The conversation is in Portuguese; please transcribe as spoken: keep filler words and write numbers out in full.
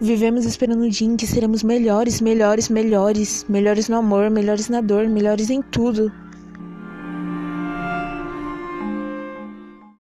Vivemos esperando o dia em que seremos melhores, melhores, melhores, melhores no amor, melhores na dor, melhores em tudo.